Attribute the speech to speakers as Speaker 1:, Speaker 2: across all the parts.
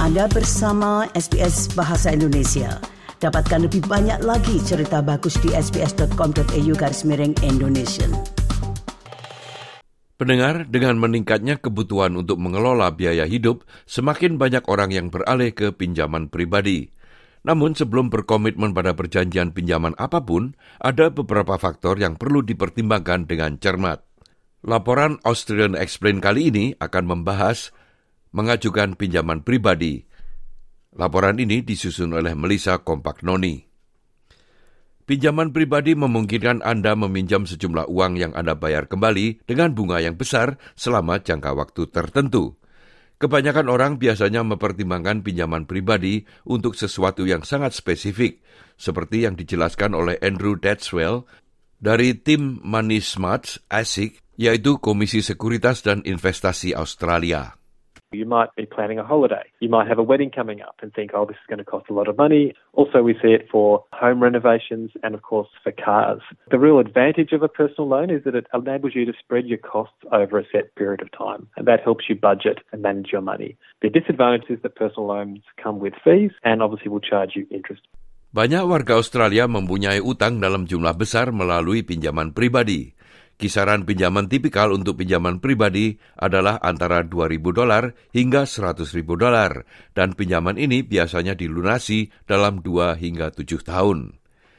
Speaker 1: Anda bersama SBS Bahasa Indonesia. Dapatkan lebih banyak lagi cerita bagus di sbs.com.au/Indonesian.
Speaker 2: Pendengar, dengan meningkatnya kebutuhan untuk mengelola biaya hidup, semakin banyak orang yang beralih ke pinjaman pribadi. Namun sebelum berkomitmen pada perjanjian pinjaman apapun, ada beberapa faktor yang perlu dipertimbangkan dengan cermat. Laporan Australian Explained kali ini akan membahas mengajukan pinjaman pribadi. Laporan ini disusun oleh Melissa Compagnoni. Pinjaman pribadi memungkinkan Anda meminjam sejumlah uang yang Anda bayar kembali dengan bunga yang besar selama jangka waktu tertentu. Kebanyakan orang biasanya mempertimbangkan pinjaman pribadi untuk sesuatu yang sangat spesifik, seperti yang dijelaskan oleh Andrew Datswell dari tim Money Smarts ASIC, yaitu Komisi Sekuritas dan Investasi Australia.
Speaker 3: You might be planning a holiday. You might have a wedding coming up and think, oh, this is going to cost a lot of money. Also, we see it for home renovations and, of course, for cars. The real advantage of a personal loan is that it enables you to spread your costs over a set period of time, and that helps you budget and manage your money. The disadvantage is that personal loans come with fees and obviously will charge you interest.
Speaker 2: Banyak warga Australia mempunyai utang dalam jumlah besar melalui pinjaman pribadi. Kisaran pinjaman tipikal untuk pinjaman pribadi adalah antara $2,000 hingga $100,000, dan pinjaman ini biasanya dilunasi dalam 2 hingga 7 tahun.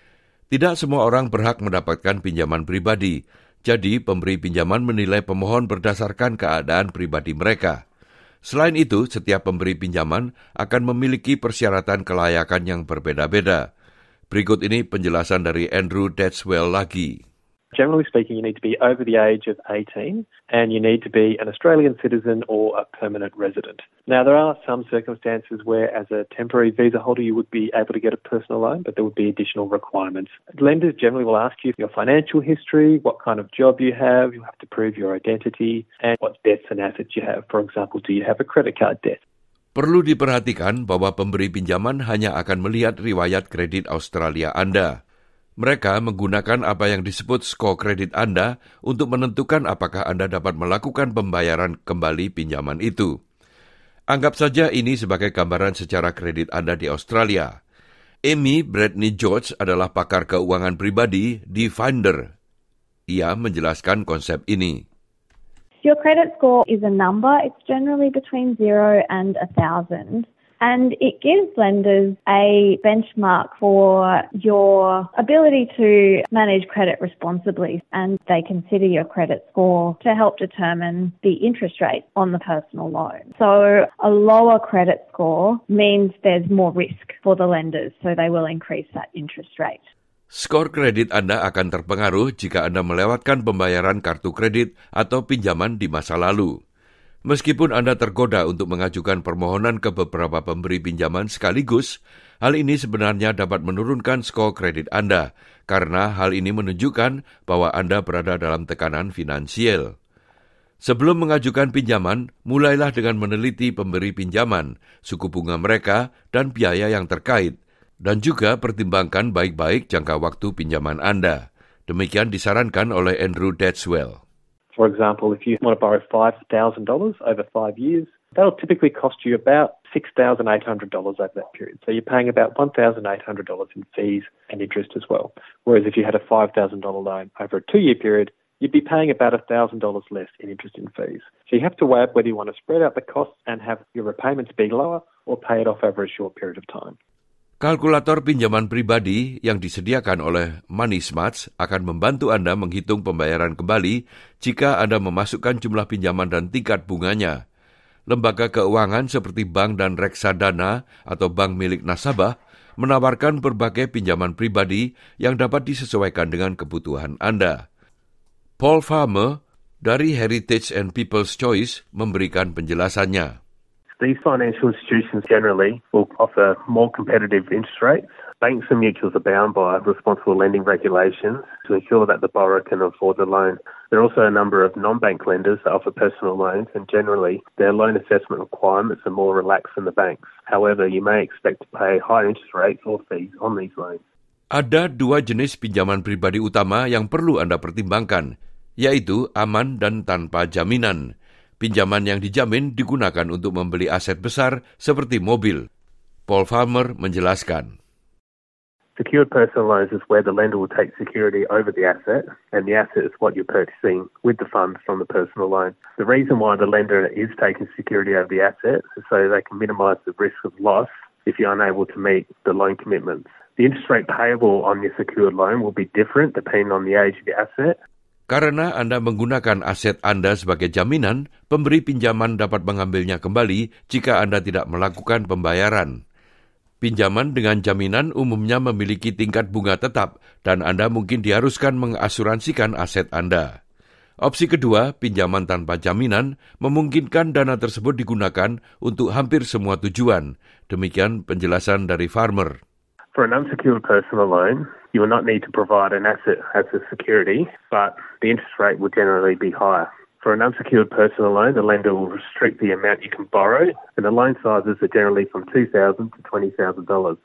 Speaker 2: Tidak semua orang berhak mendapatkan pinjaman pribadi, jadi pemberi pinjaman menilai pemohon berdasarkan keadaan pribadi mereka. Selain itu, setiap pemberi pinjaman akan memiliki persyaratan kelayakan yang berbeda-beda. Berikut ini penjelasan dari Andrew Datswell lagi.
Speaker 3: Generally speaking, you need to be over the age of 18 and you need to be an Australian citizen or a permanent resident. Now, there are some circumstances where as a temporary visa holder you would be able to get a personal loan, but there would be additional requirements. Lenders generally will ask you your financial history, what kind of job you have to prove your identity, and what debts and assets you have. For example, do you have a credit card debt?
Speaker 2: Perlu diperhatikan bahwa pemberi pinjaman hanya akan melihat riwayat kredit Australia Anda. Mereka menggunakan apa yang disebut skor kredit Anda untuk menentukan apakah Anda dapat melakukan pembayaran kembali pinjaman itu. Anggap saja ini sebagai gambaran secara kredit Anda di Australia. Amy Bradley George adalah pakar keuangan pribadi di Finder. Ia menjelaskan konsep ini.
Speaker 4: Your credit score is a number. It's generally between 0 and 1,000. And it gives lenders a benchmark for your ability to manage credit responsibly, and they consider your credit score to help determine the interest rate on the personal loan. So a lower credit score means there's more risk for the lenders, so they will increase that interest rate.
Speaker 2: Skor kredit Anda akan terpengaruh jika Anda melewatkan pembayaran kartu kredit atau pinjaman di masa lalu. Meskipun Anda tergoda untuk mengajukan permohonan ke beberapa pemberi pinjaman sekaligus, hal ini sebenarnya dapat menurunkan skor kredit Anda, karena hal ini menunjukkan bahwa Anda berada dalam tekanan finansial. Sebelum mengajukan pinjaman, mulailah dengan meneliti pemberi pinjaman, suku bunga mereka, dan biaya yang terkait, dan juga pertimbangkan baik-baik jangka waktu pinjaman Anda. Demikian disarankan oleh Andrew Datswell.
Speaker 3: For example, if you want to borrow $5,000 over 5 years, that'll typically cost you about $6,800 over that period. So you're paying about $1,800 in fees and interest as well. Whereas if you had a $5,000 loan over a 2-year period, you'd be paying about $1,000 less in interest and fees. So you have to weigh up whether you want to spread out the costs and have your repayments be lower or pay it off over a short period of time.
Speaker 2: Kalkulator pinjaman pribadi yang disediakan oleh Money Smarts akan membantu Anda menghitung pembayaran kembali jika Anda memasukkan jumlah pinjaman dan tingkat bunganya. Lembaga keuangan seperti bank dan reksadana atau bank milik nasabah menawarkan berbagai pinjaman pribadi yang dapat disesuaikan dengan kebutuhan Anda. Paul Farmer dari Heritage and People's Choice memberikan penjelasannya.
Speaker 5: These financial institutions generally will offer more competitive interest rates. Banks and mutuals are bound by responsible lending regulations to ensure that the borrower can afford the loan. There are also a number of non-bank lenders that offer personal loans, and generally their loan assessment requirements are more relaxed than the banks. However, you may expect to pay higher interest rates or fees on these loans.
Speaker 2: Ada 2 jenis pinjaman pribadi utama yang perlu Anda pertimbangkan, yaitu aman dan tanpa jaminan. Pinjaman yang dijamin digunakan untuk membeli aset besar seperti mobil. Paul Farmer menjelaskan.
Speaker 5: Secured personal loans is where the lender will take security over the asset, and the asset is what you're purchasing with the funds from the personal loan. The reason why the lender is taking security over the asset is so they can minimise the risk of loss if you're unable to meet the loan commitments. The interest rate payable on your secured loan will be different depending on the age of your asset.
Speaker 2: Karena Anda menggunakan aset Anda sebagai jaminan, pemberi pinjaman dapat mengambilnya kembali jika Anda tidak melakukan pembayaran. Pinjaman dengan jaminan umumnya memiliki tingkat bunga tetap dan Anda mungkin diharuskan mengasuransikan aset Anda. Opsi kedua, pinjaman tanpa jaminan, memungkinkan dana tersebut digunakan untuk hampir semua tujuan. Demikian penjelasan dari Farmer.
Speaker 5: For an unsecured personal loan, you will not need to provide an asset as a security, but the interest rate will generally be higher. For an unsecured personal loan, the lender will restrict the amount you can borrow, and the loan sizes are generally from $2,000 to $20,000.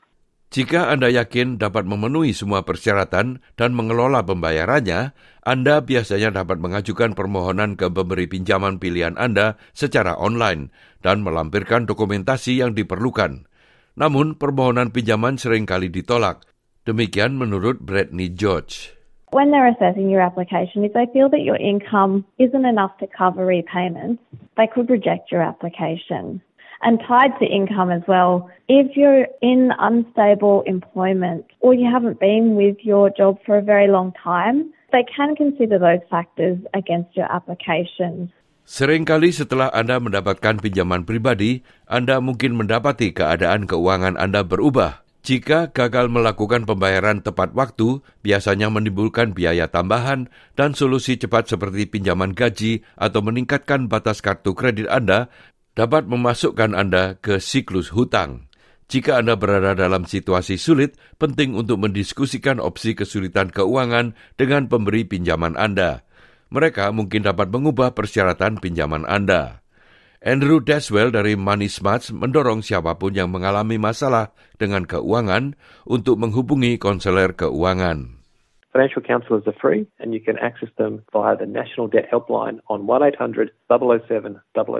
Speaker 2: Jika Anda yakin dapat memenuhi semua persyaratan dan mengelola pembayarannya, Anda biasanya dapat mengajukan permohonan ke pemberi pinjaman pilihan Anda secara online dan melampirkan dokumentasi yang diperlukan. Namun, permohonan pinjaman seringkali ditolak. Demikian menurut Brittany George.
Speaker 4: When they're assessing your application, if they feel that your income isn't enough to cover repayments, they could reject your application. And tied to income as well, if you're in unstable employment or you haven't been with your job for a very long time, they can consider those factors against your application.
Speaker 2: Seringkali setelah Anda mendapatkan pinjaman pribadi, Anda mungkin mendapati keadaan keuangan Anda berubah. Jika gagal melakukan pembayaran tepat waktu, biasanya menimbulkan biaya tambahan dan solusi cepat seperti pinjaman gaji atau meningkatkan batas kartu kredit Anda dapat memasukkan Anda ke siklus hutang. Jika Anda berada dalam situasi sulit, penting untuk mendiskusikan opsi kesulitan keuangan dengan pemberi pinjaman Anda. Mereka mungkin dapat mengubah persyaratan pinjaman Anda. Andrew Deswell dari Money Smarts mendorong siapapun yang mengalami masalah dengan keuangan untuk menghubungi konselor keuangan.
Speaker 3: Financial counsellors are free and you can access them via the National Debt Helpline on 1-800-007-007.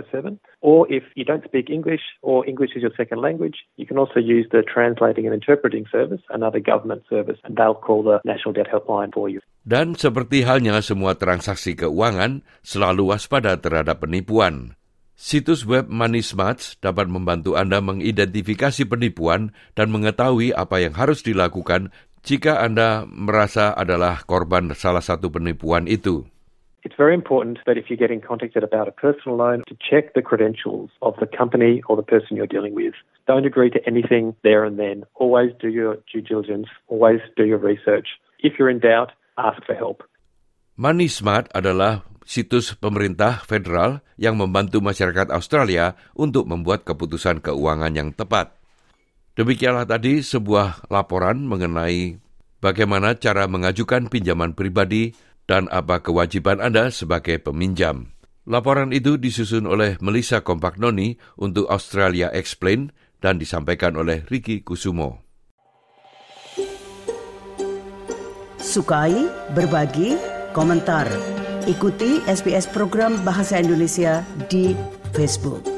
Speaker 3: Or if you don't speak English or English is your second language, you can also use the Translating and Interpreting Service, another government service, and they'll call the National Debt Helpline for you.
Speaker 2: Dan seperti halnya semua transaksi keuangan, selalu waspada terhadap penipuan. Situs web Money Smarts dapat membantu Anda mengidentifikasi penipuan dan mengetahui apa yang harus dilakukan jika Anda merasa adalah korban salah satu penipuan itu.
Speaker 3: It's very important that if you're getting contacted about a personal loan, to check the credentials of the company or the person you're dealing with. Don't agree to anything there and then. Always do your due diligence. Always do your research. If you're in doubt, ask for help.
Speaker 2: Money Smart adalah situs pemerintah federal yang membantu masyarakat Australia untuk membuat keputusan keuangan yang tepat. Demikianlah tadi sebuah laporan mengenai bagaimana cara mengajukan pinjaman pribadi dan apa kewajiban Anda sebagai peminjam. Laporan itu disusun oleh Melissa Compagnoni untuk Australia Explained dan disampaikan oleh Ricky Kusumo.
Speaker 1: Sukai, berbagi, komentar. Ikuti SBS program Bahasa Indonesia di Facebook.